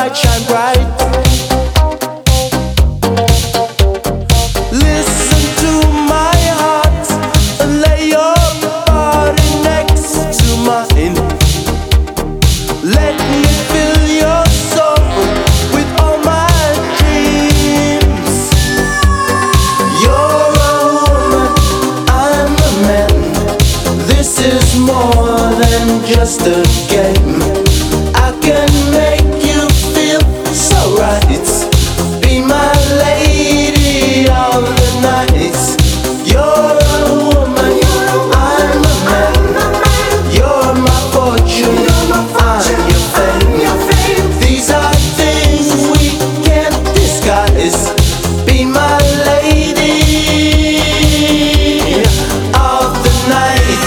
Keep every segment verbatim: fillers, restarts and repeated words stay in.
light shine bright. Listen to my heart and lay your body next to mine. Let me fill your soul with all my dreams. You're a woman, I'm a man. This is more than just a game. I can make you feel so right. Be my lady of the night. You're a woman, I'm a man. You're my fortune, I'm your fame. These are things we can't disguise. Be my lady of the night.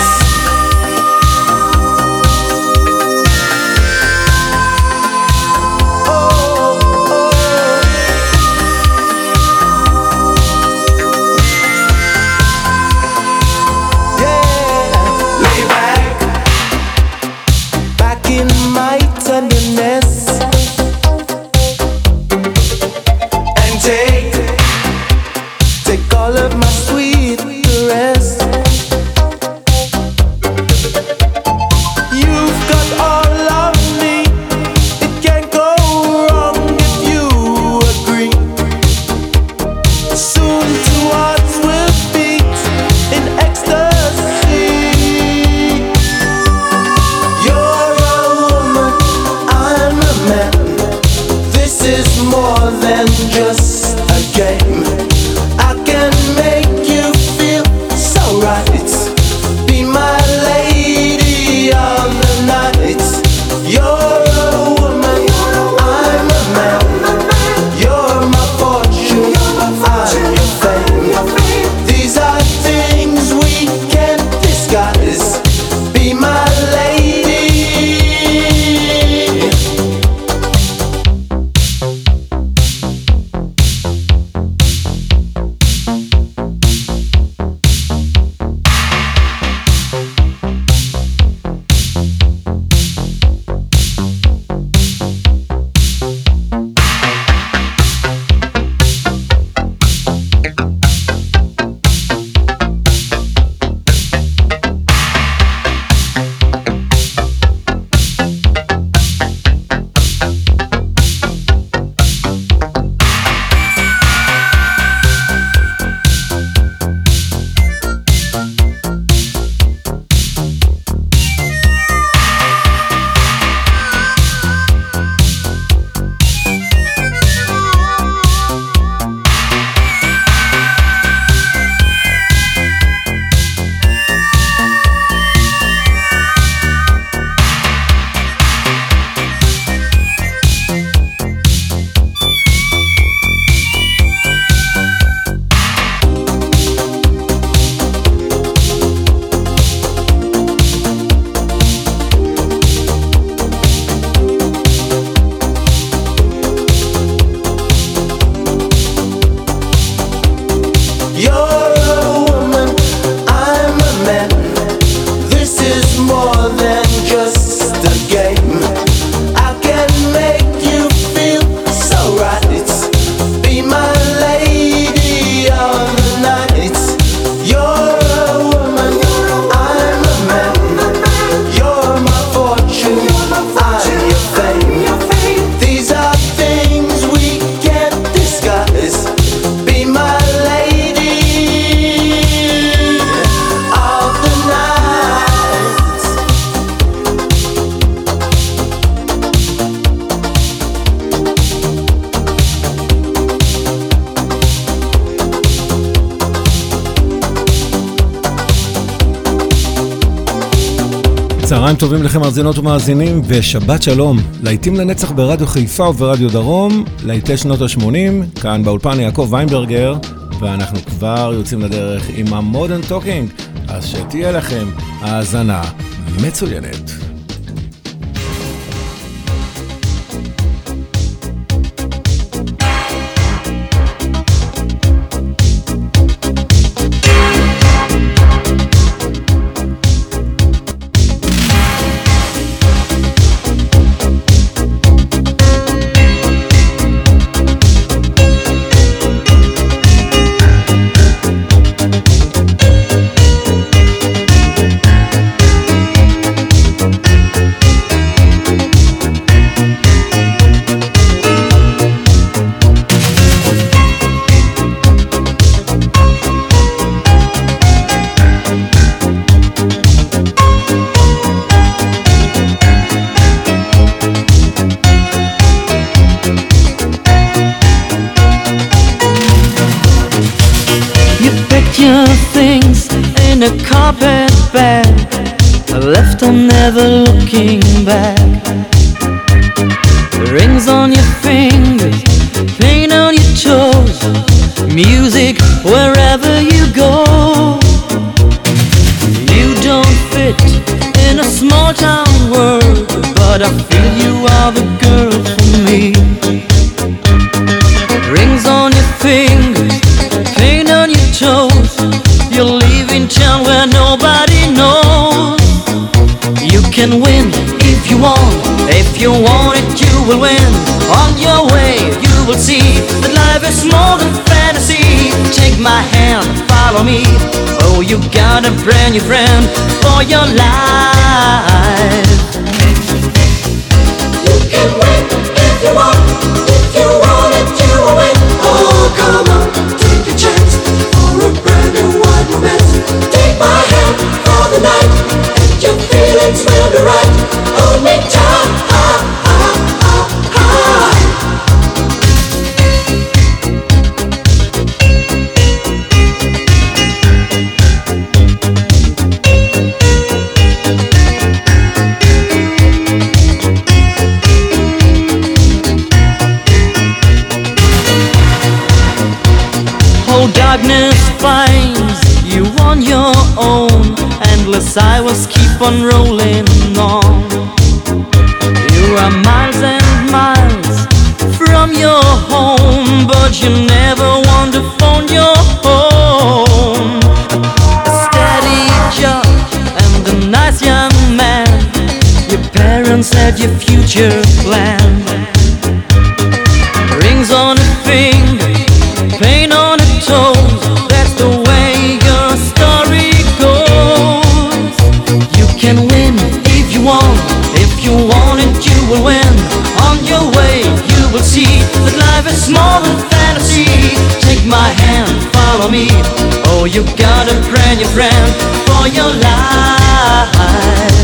צהריים טובים לכם מאזינות ומאזינים ושבת שלום. להיטים לנצח ברדיו חיפה וברדיו דרום, להיטי שנות ה-שמונים, כאן באולפן יעקב ויינברגר, ואנחנו כבר יוצאים לדרך עם המודרן טוקינג, אז שתהיה לכם האזנה מצוינת. a carpet bag, left on never looking back. Rings on your fingers, paint on your toes, music wherever you go. You don't fit in a small town world, but I feel you are the girl for me. Rings on your fingers, paint on your toes, you're leaving town where nobody knows. You can win if you want, if you want it you will win. On your way you will see that life is more than fantasy. Take my hand, follow me, oh you got a brand new friend for your life. You can win if you want, if you want it you will win. Oh come on, take a chance for a brand new wide romance. Take my hand for the night, and your feelings will be right. Hold me tight, ah, ah, ah, ah. Oh, darkness finds you on your own, endless highways keep on rolling on. You are miles and miles from your home, but you never want to phone your home. A steady job and a nice young man, your parents had your future planned. Rings on a finger, paint on a toes, that's the way your story goes. You can win if you want, if you want it you will win. On your way you will see that life is more than fantasy. Take my hand, follow me, oh you got a brand new friend for your life.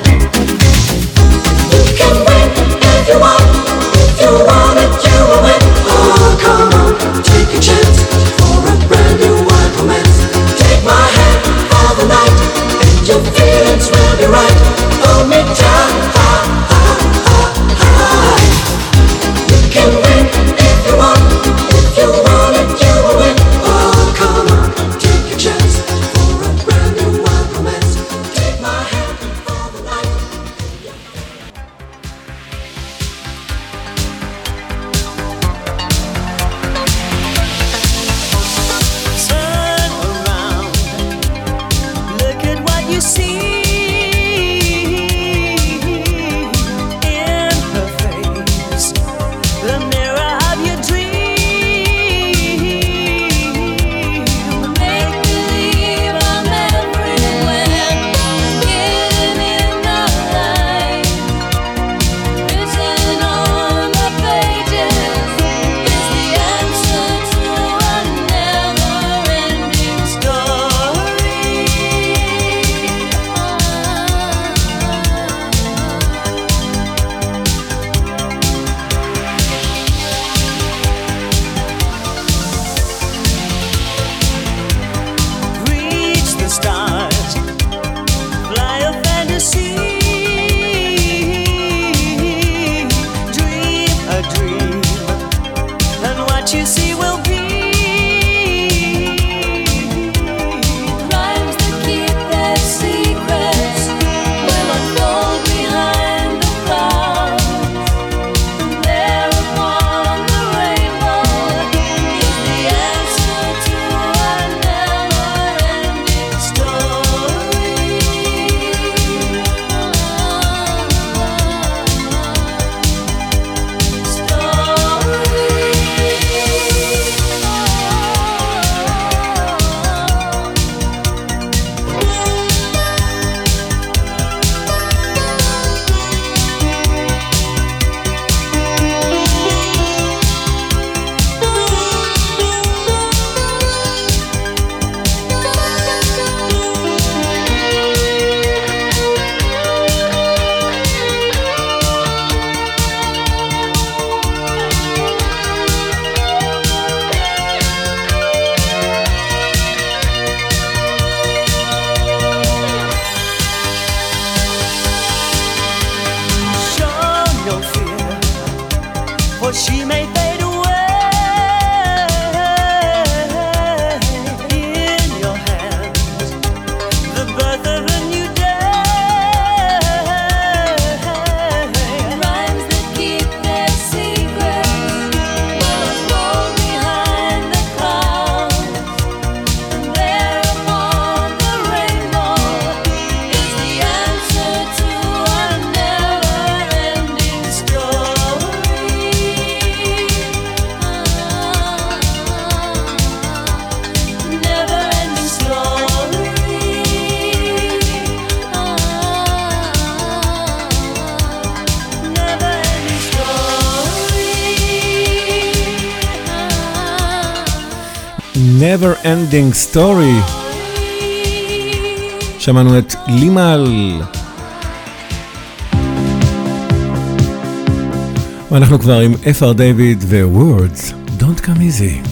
You can win if you want, if you want it you will win. Oh come on, take a chance for a brand new wide romance. Take my hand for the night, and your feelings will be right. Hold me tight, ah, ah, ah, ah. You can win if you want, if you want it you will win. Oh come on, take a chance for a brand new wide romance. Take my hand for the night. Turn around, look at what you see in her face, the mirror of your dream. Make believe I'm everywhere, getting in the light, written on the pages is the answer to a never-ending story. Never Ending Story. שמענו את לימל. ואנחנו כבר עם אפר דיוויד ו-Words Don't Come Easy.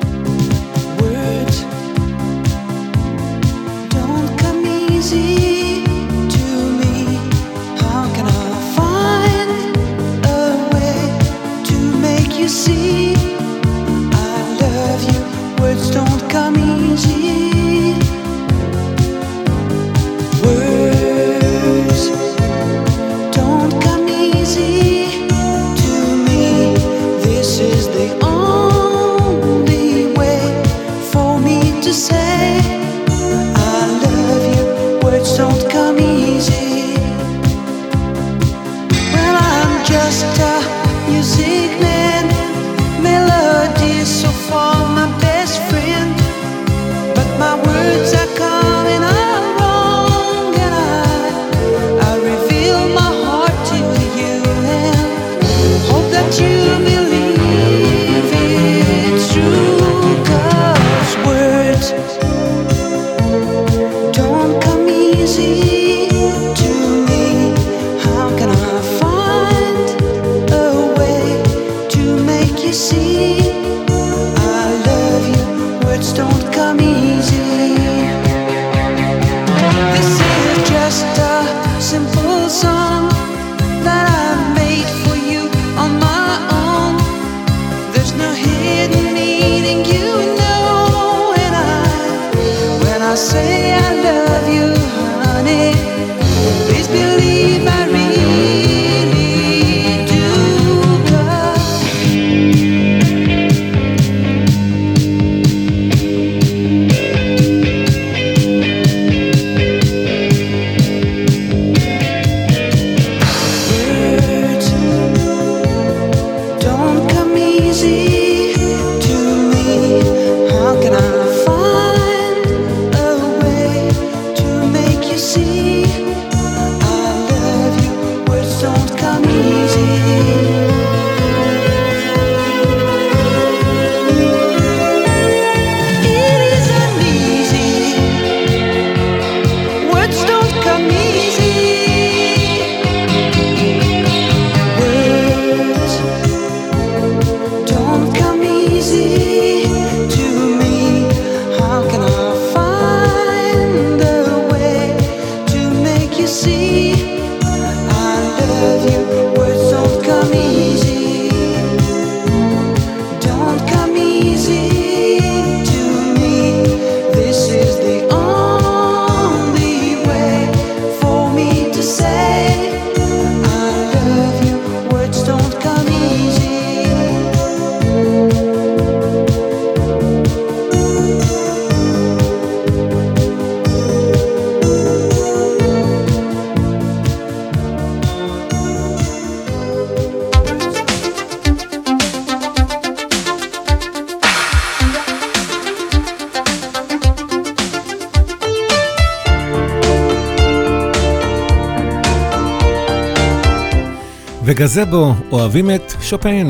וגזבו אוהבים את שופן.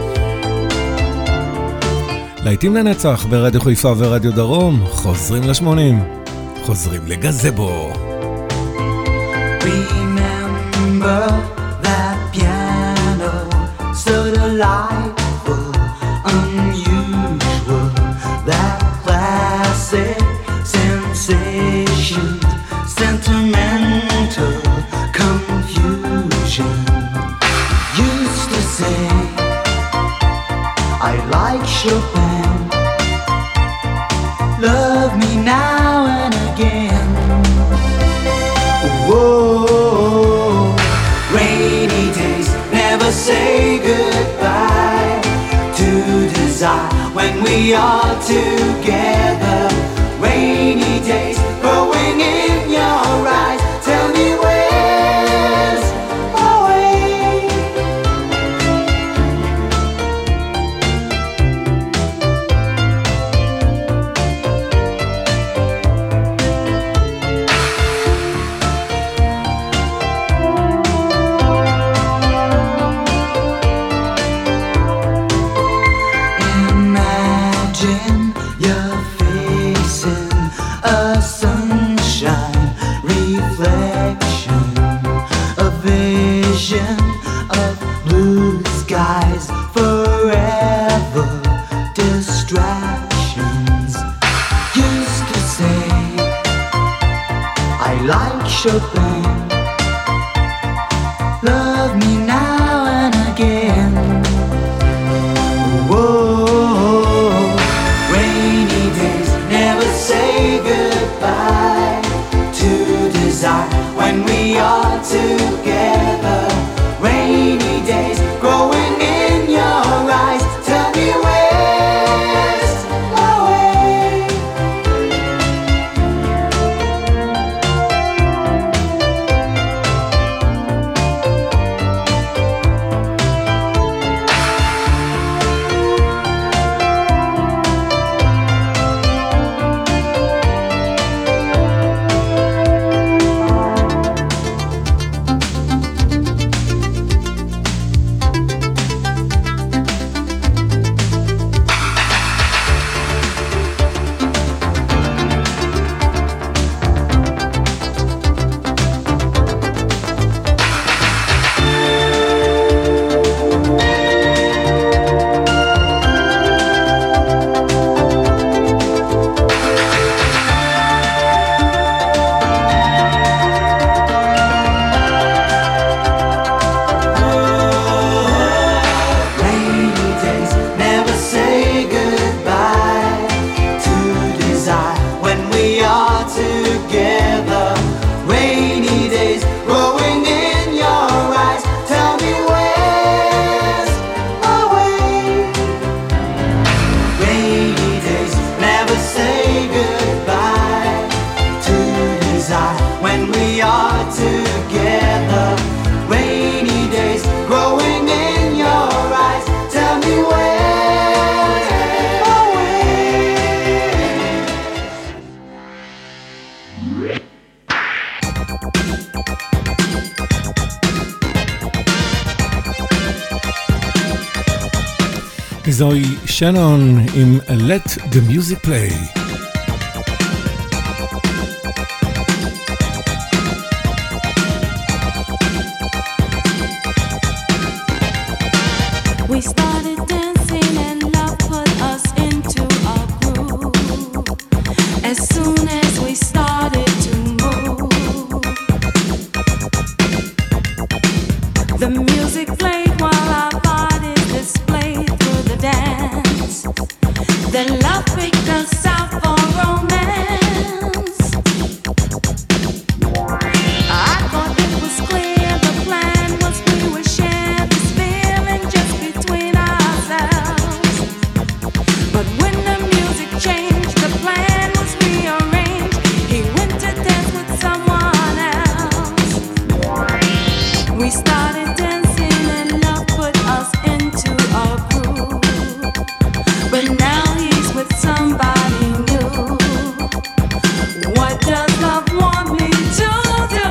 להיטים לנצח ברדיו חיפה ורדיו דרום, חוזרים לשמונים, חוזרים לגזבו. Remember that piano, so delightful, unusual, that classic sensation, sentimental confusion. Used to say I like Chopin, love me now and again. Whoa, rainy days never say goodbye to desire when we are together. Rainy days growing in your eyes, tell me where's my way. Imagine your like Chopin. Love me now and again. Whoa, rainy days never say goodbye to desire when we are together. Rainy days growing in your eyes. Tell me where's the way? זוהי שנון עם Let the Music Play. We started dancing and love put us into a groove. As soon as we started to move, the music played while our bodies displayed through the dance. Then love picked us out for romance. I thought it was clear the plan was we would share this feeling just between ourselves. But when the music changed, the plan was rearranged. He went to dance with someone else. We started dancing and love put us into a groove. But now he's with somebody new. What does love want me to do?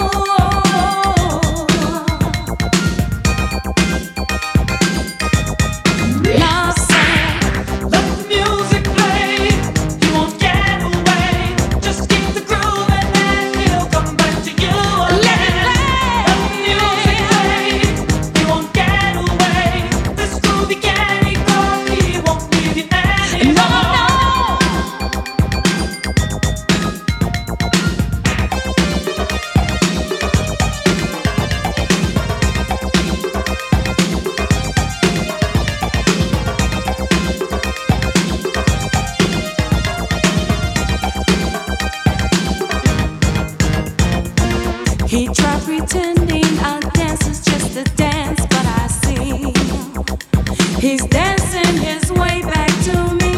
Love said, let the music play. You won't get away. Just keep the groove and then he'll come back to you again. Let the music play. You won't get away. This groovy candy girl, he won't leave you anymore. No, no. He tried pretending our dance is just a dance, but I see he's dancing his way back to me.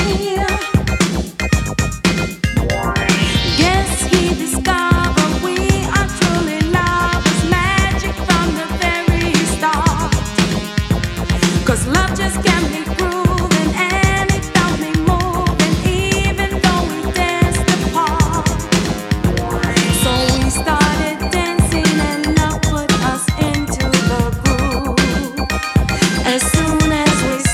Guess he discovered we are truly lovers, magic from the very start. 'Cause love just can't be proven, and it felt me moving, even though we danced apart. So we started dancing and love put us into the groove. As soon as we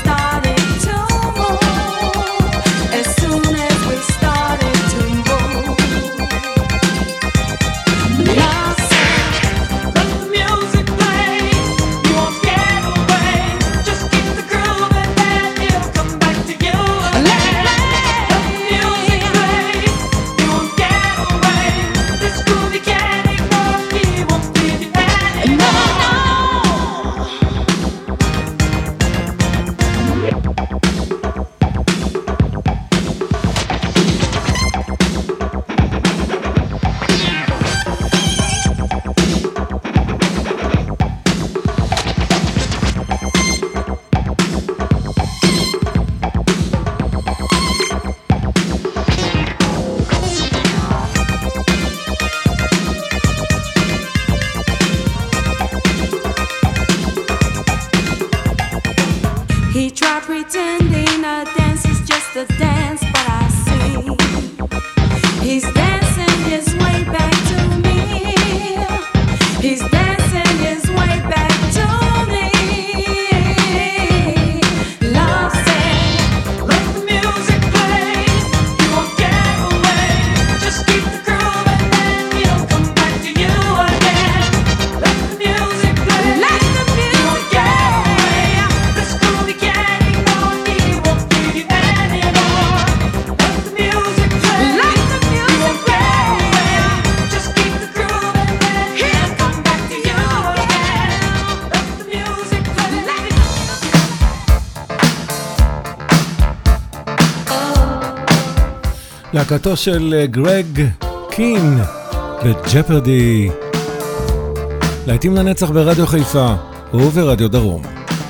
להקתו של גרג קין וג'פרדי. להיטים לנצח ברדיו חיפה וברדיו דרום.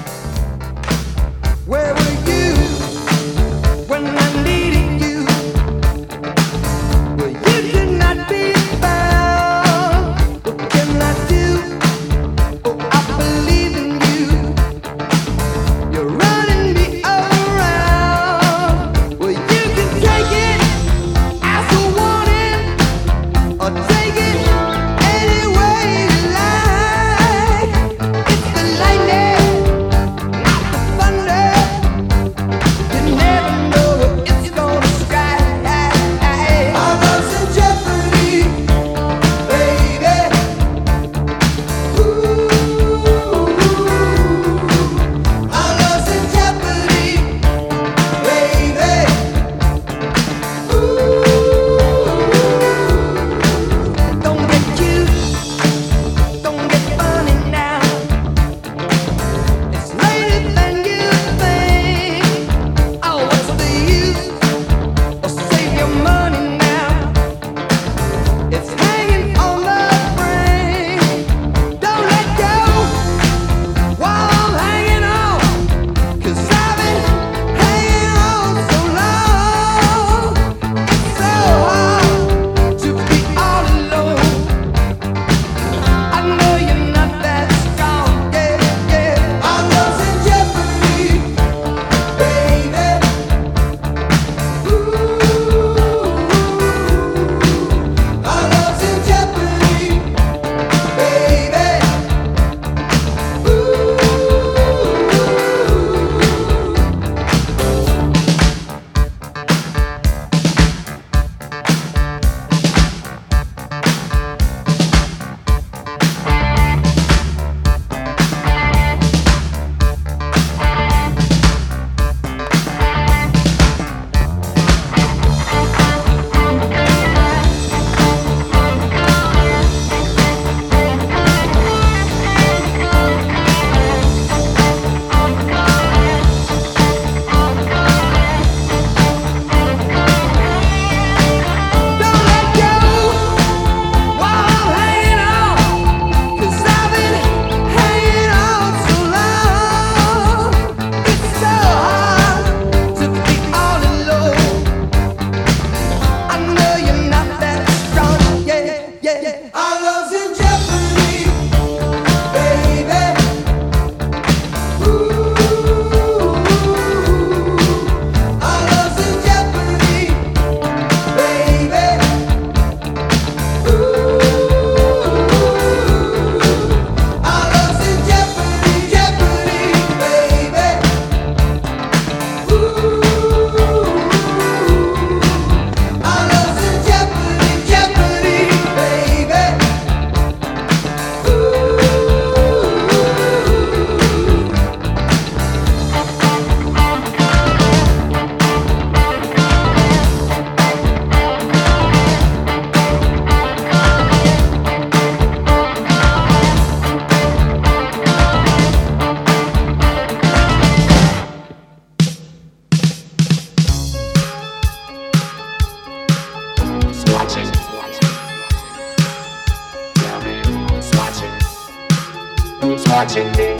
watching me.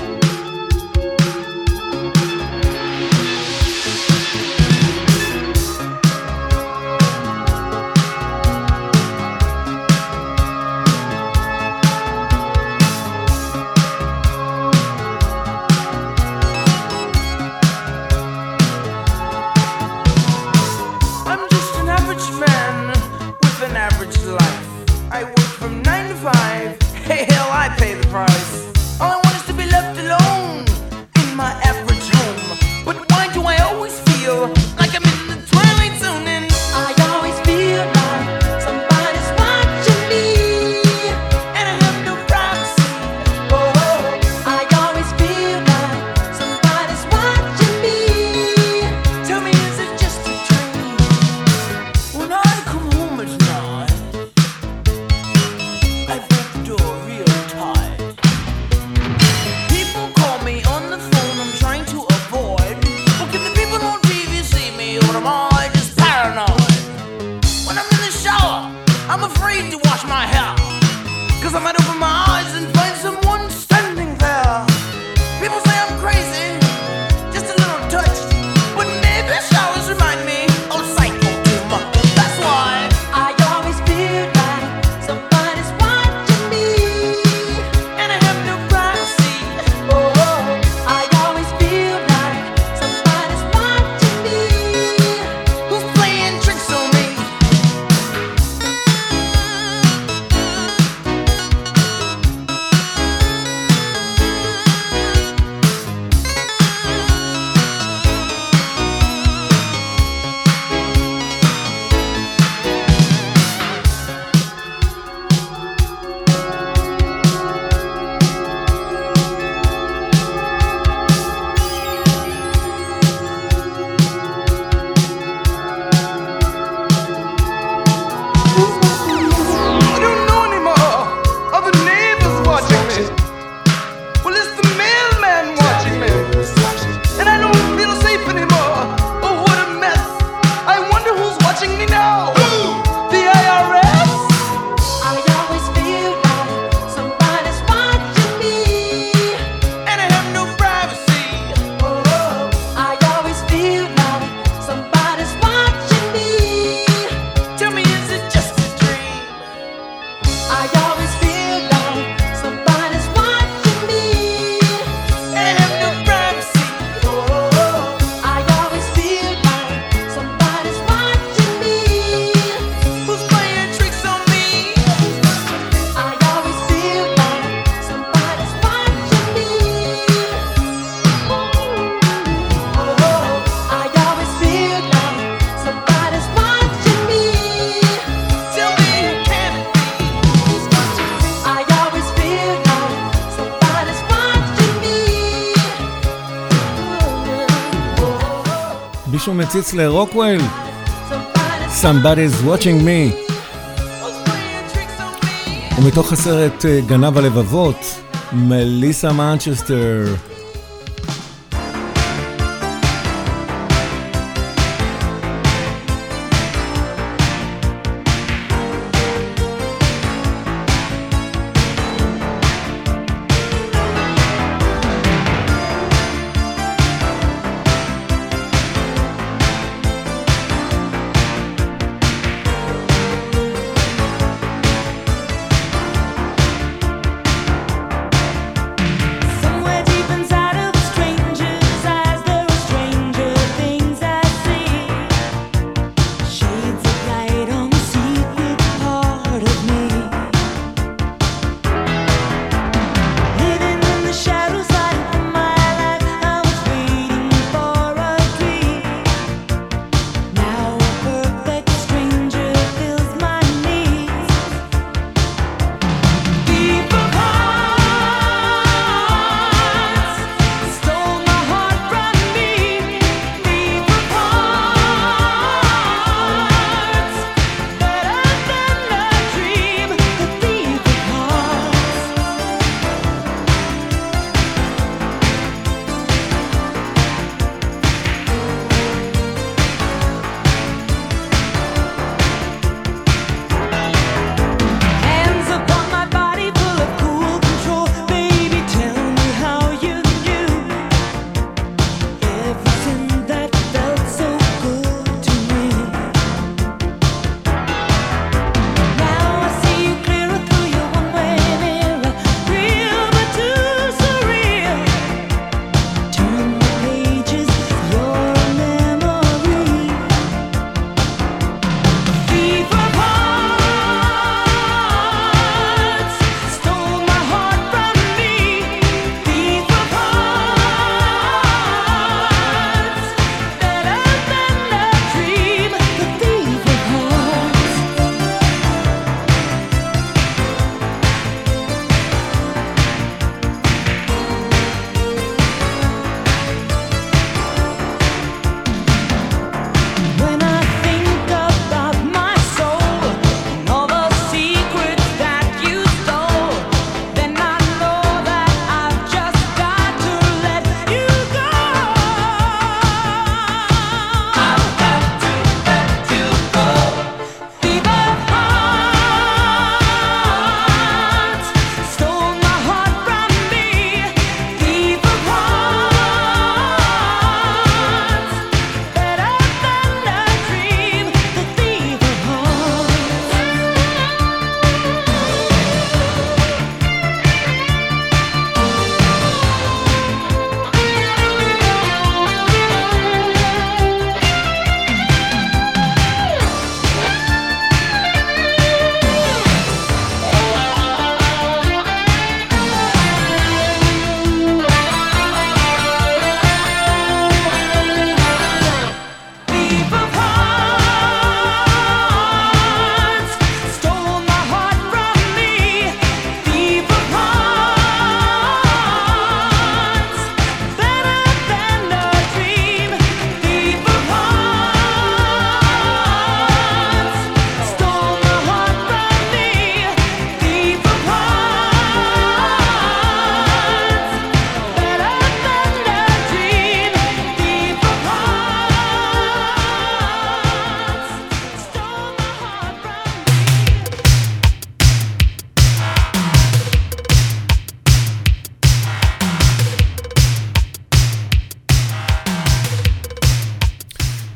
I might open my eyes and find someone standing there. People say I'm crazy, just a little touch, but maybe showers remind me of psycho too much. That's why I always feel like somebody's watching me, and I have no privacy. oh, I always feel like somebody's watching me. Who's playing tricks on me? I don't know anymore. Are the neighbors watching me? Well, it's the mailman watching me. And I don't feel safe anymore. Oh, what a mess. I wonder who's watching me now. The I R S? I always feel like somebody's watching me, And I have no privacy. oh, I always feel like somebody's watching me. Tell me, is it just a dream? I always feel like somebody's watching me, And I have no privacy. oh, I always feel like somebody's watching me. Who's playing tricks on me? I always feel like somebody's watching me. Oh, I always feel like somebody's watching me. Tell me, who can it be? I always feel like somebody's watching me. מישהו מציץ לרוקוויל, Somebody's Somebody's watching me, Who's playing tricks on me? ומתוך הסרט אה, גנב הלבבות, מליסה מנצ'סטר. somewhere deep inside.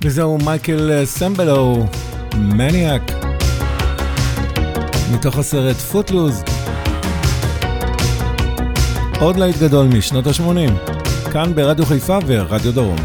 וזהו מייקל סמבלו, מניאק, מתוך הסרט פוטלוז. עוד להיט גדול משנות ה-שמונים, כאן ברדיו חיפה ורדיו דרום.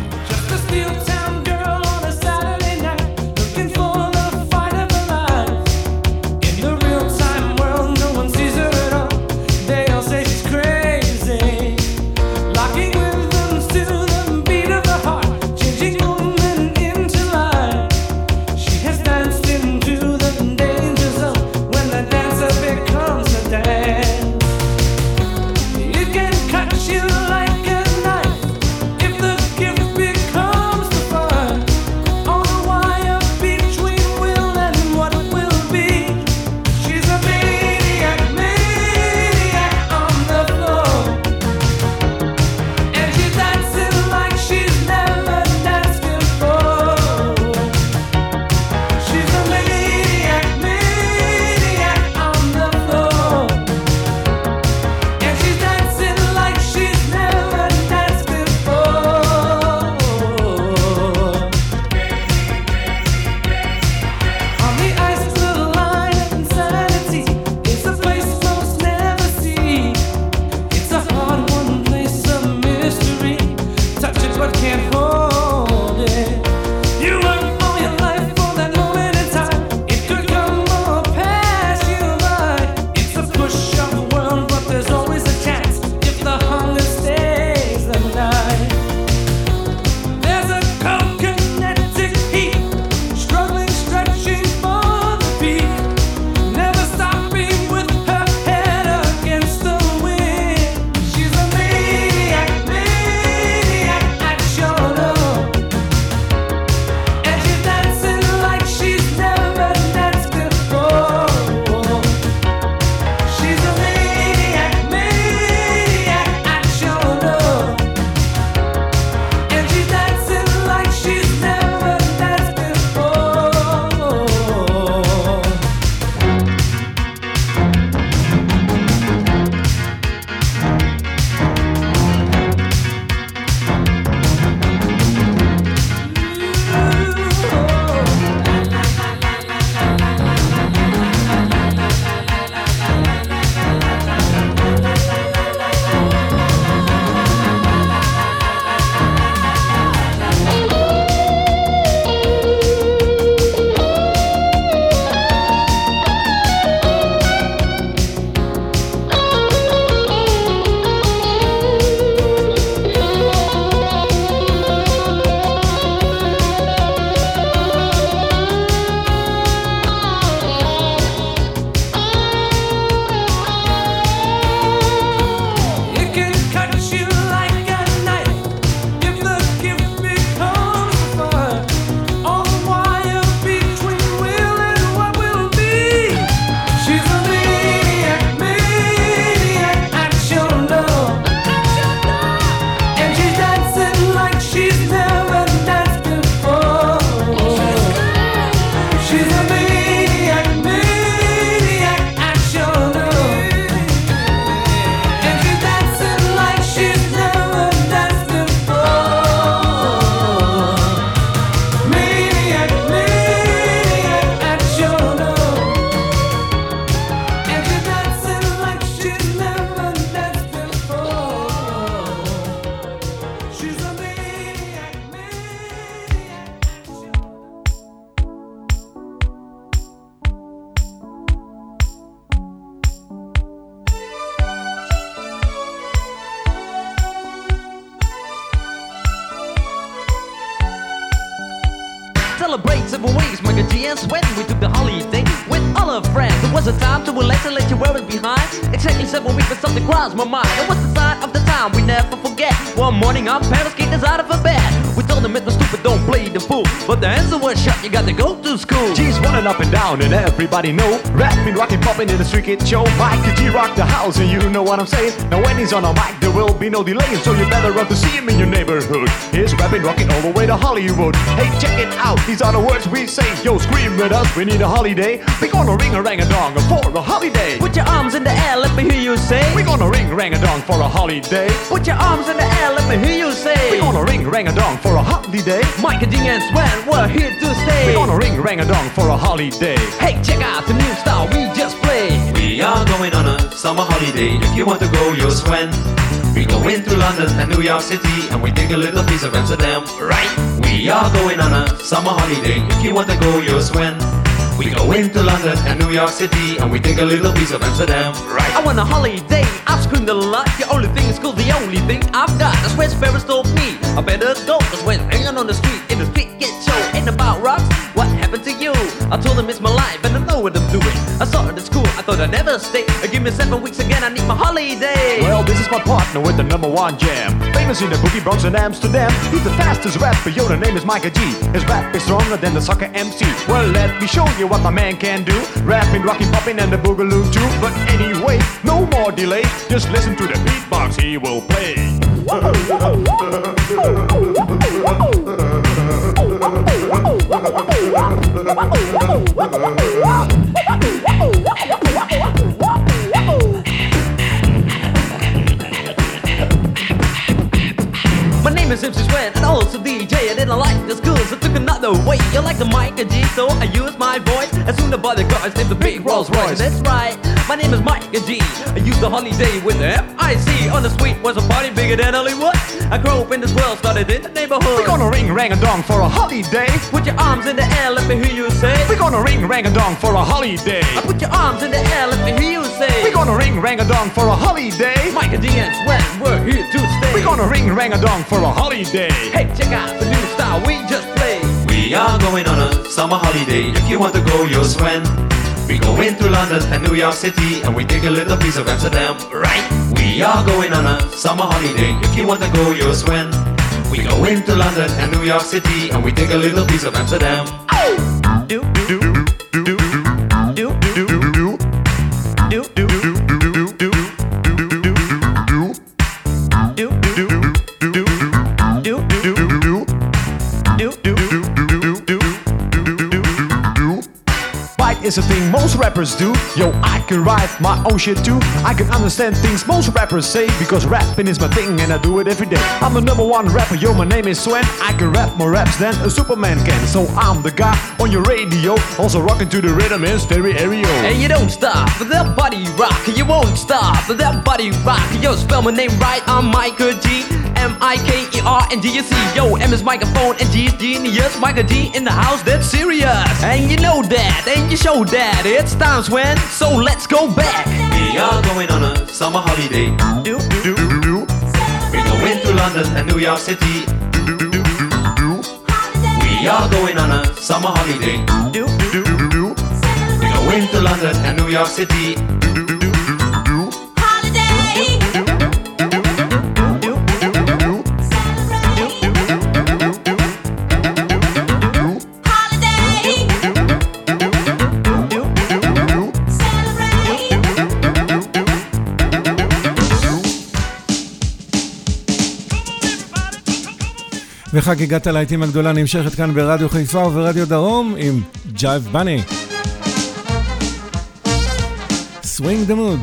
Celebrate several ways, Mike and G and Sweat. We took the holiday with all our friends. It was a time to relax and let you wear it behind. Exactly seven weeks, but something crossed my mind. It was the sign of the time we never forget. One morning our parents kicked us out of a bed. We told them it's no stupid, don't play the fool. But the answer was shut, you got to go to school. G's running up and down and everybody know. Rapping, rocking, popping in the street kid show. Mike and G rock the house and you know what I'm saying. Now when he's on a mic there will be no delay. So you better run to see him in your neighborhood. He's rapping, rocking all the way to Hollywood. Hey, check it out, these are the words we say. Yo, scream with us, we need a holiday. We gonna ring a rang-a-dong for a holiday. Put your arms in the air, let me hear you say. We gonna ring rang-a-dong for a holiday. day. Put your arms in the air, let me hear you say. We're gonna ring rang-a-dong for a holiday. Mike and G and Sven, we're here to stay. We're gonna ring rang-a-dong for a holiday. Hey, check out the new style we just played. We are going on a summer holiday. If you want to go, you'll Sven. We go into London and New York City, and we take a little piece of Amsterdam, right? We are going on a summer holiday. If you want to go, you'll Sven. We go into London and New York City, and we take a little piece of Amsterdam, right? I want a holiday, I've screamed a lot. The only thing is cool, the only thing I've got. That's where Sparrows told me I better go. Cause when hanging on the street, in the street get show. Ain't about rocks, what happened to you? I told them it's my life and I know what I'm doing. I started at school, I thought I'd never stay. Give me seven weeks again, I need my holiday. Well, this is my partner with the number one jam. Famous in the boogie Bronx and Amsterdam. He's the fastest rapper, yo, the name is Micah G. His rap is stronger than the soccer M C. Well, let me show you what my man can do. Rapping, rocking, popping, and the boogaloo too. But anyway, no more delay. Just listen to the beatbox he will play. My name is Simpson Sven and also D J. I didn't like the school, so took another way. You like the Micah G, so I use my voice. As soon as the guys named the big Rolls Royce. That's right, my name is Micah G. I used the holiday with the F I C. On the street was a party bigger than Hollywood. I grew up in this world, started in the neighborhood. We're gonna ring rang-a-dong for a holiday. Put your arms in the air, let me hear you say. We're gonna ring rang-a-dong for a holiday. I put your arms in the air, let me hear you say. We're gonna ring rang-a-dong for a holiday. Micah G and Sven, we're here to stay. We're gonna ring rang-a-dong for a holiday. Hey, check out the new style we just played. We are going on a summer holiday. If you want to go, you'll Sven. We go into London and New York City, and we take a little piece of Amsterdam, right? We are going on a summer holiday. If you want to go, you'll Sven. We go into London and New York City, and we take a little piece of Amsterdam. Do, do, do, do, do, do, do, do, do, do. Is a thing most rappers do. Yo, I can write my own shit too. I can understand things most rappers say, because rapping is my thing and I do it every day. I'm the number one rapper, yo, my name is Sven. I can rap more raps than a Superman can. So I'm the guy on your radio, also rocking to the rhythm in stereo. And you don't stop, that body rock. You won't stop, that body rock. Yo, spell my name right, I'm Micah G. M I K E R and G C. Yo, M is microphone and G is genius. Micah G in the house, that's serious. And you know that, and you show that. It's time, Sven, so let's go back. We are going on a summer holiday. Do, do, do. We go into London and New York City. We are going on a summer holiday. Do, do, do. We go into London and New York City. וחגיגת הלהיטים הגדולה נמשכת כאן ברדיו חיפה וברדיו דרום עם ג'ייב בני. Swing the mood.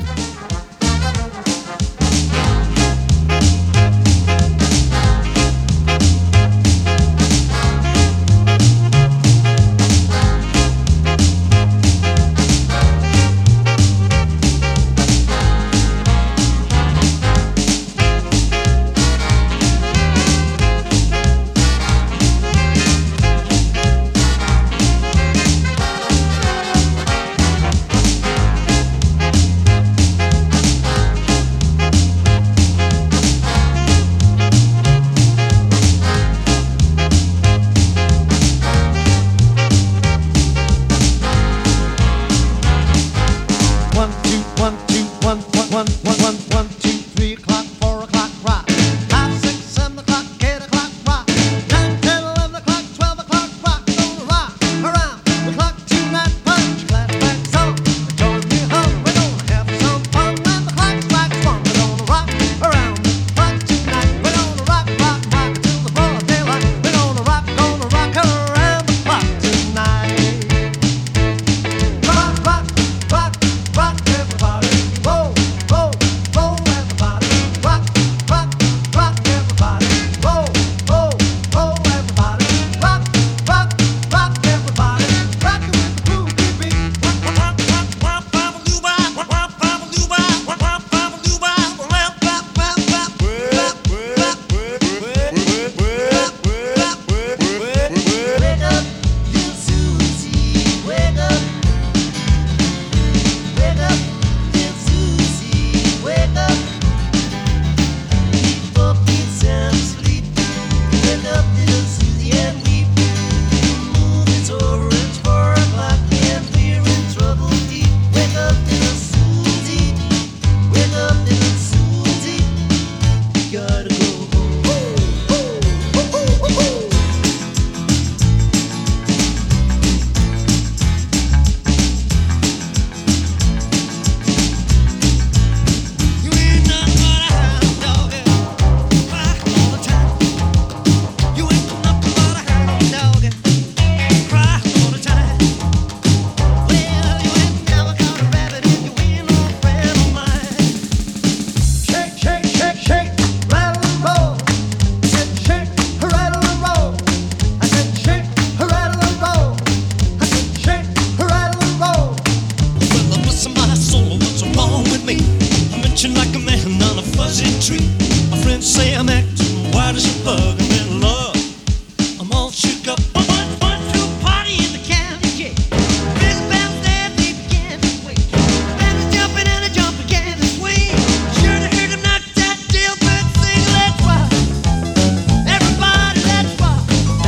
treat. My friends say I'm acting white as a bug. I'm in love. I'm all shook up. One, one, two, party in the county jail. Big bells there, they began to wait. And the jumping and the jump began to swing. Sure to hear them knock that jailbird sing. Let's rock. Everybody, let's rock.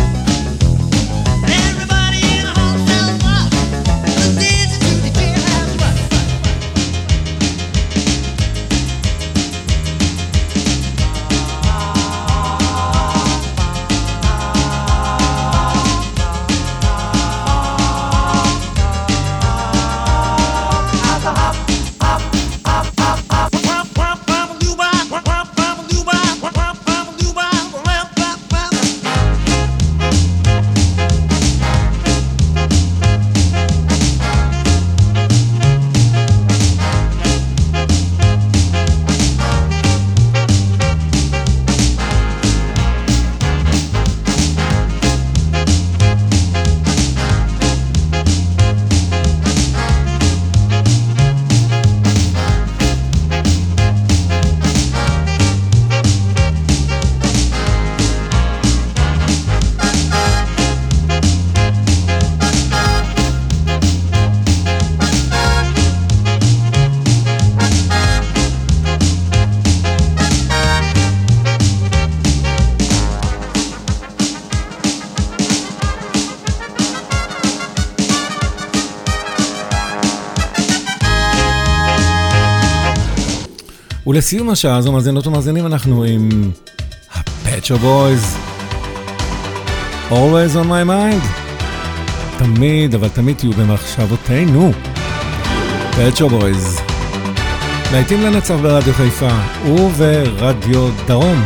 Everybody in the hotel rock. Let's dance into the jailhouse rock. ולסיום השעה הזו, מאזינות ומאזינים, אנחנו עם ה-Pet Shop Boys, Always on my mind. תמיד, אבל תמיד תהיו במחשבותינו. Pet Shop Boys. להיטים לנצח ברדיו חיפה וברדיו דרום.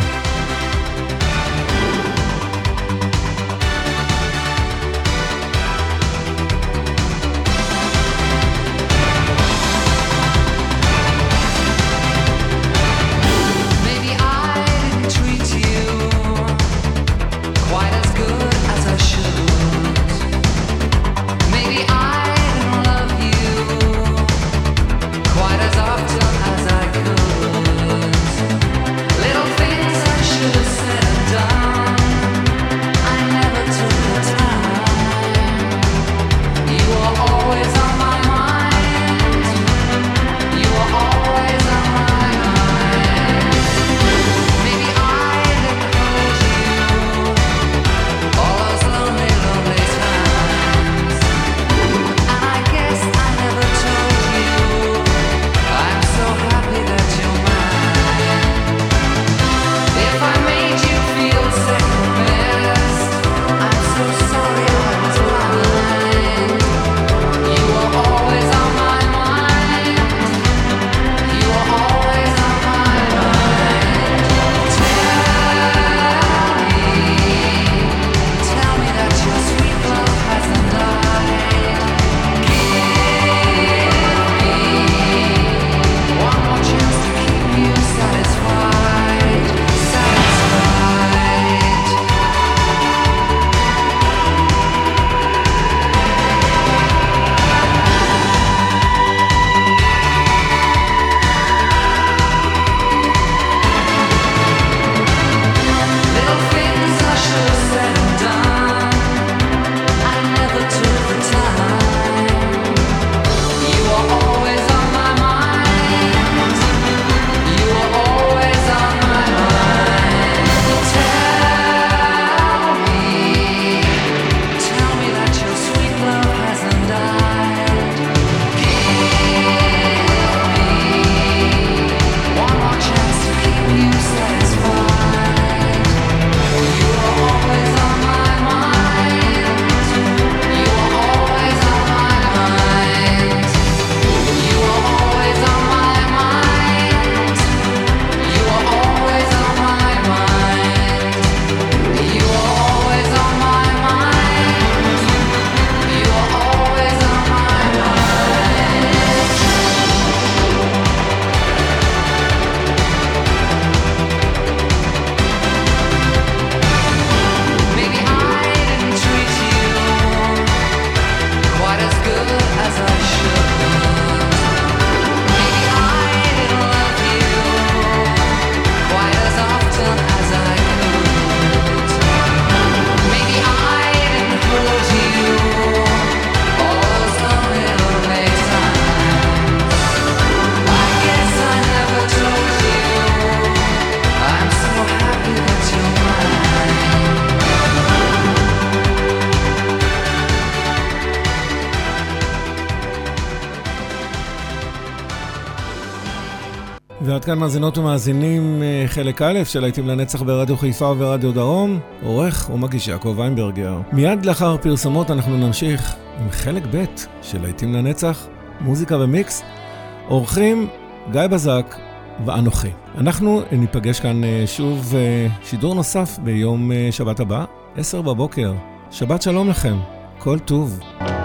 Quite as often as I could. Little things I ועד כאן מאזינות ומאזינים חלק א' של להיטים לנצח ברדיו חיפה וברדיו דרום, עורך ומגיש יעקב ויינברגר. מיד לאחר פרסומות אנחנו נמשיך עם חלק ב' של להיטים לנצח, מוזיקה ומיקס, עורכים גיא בזק ואנוכי. אנחנו ניפגש כאן שוב שידור נוסף ביום שבת הבא, עשר בבוקר. שבת שלום לכם, כל טוב.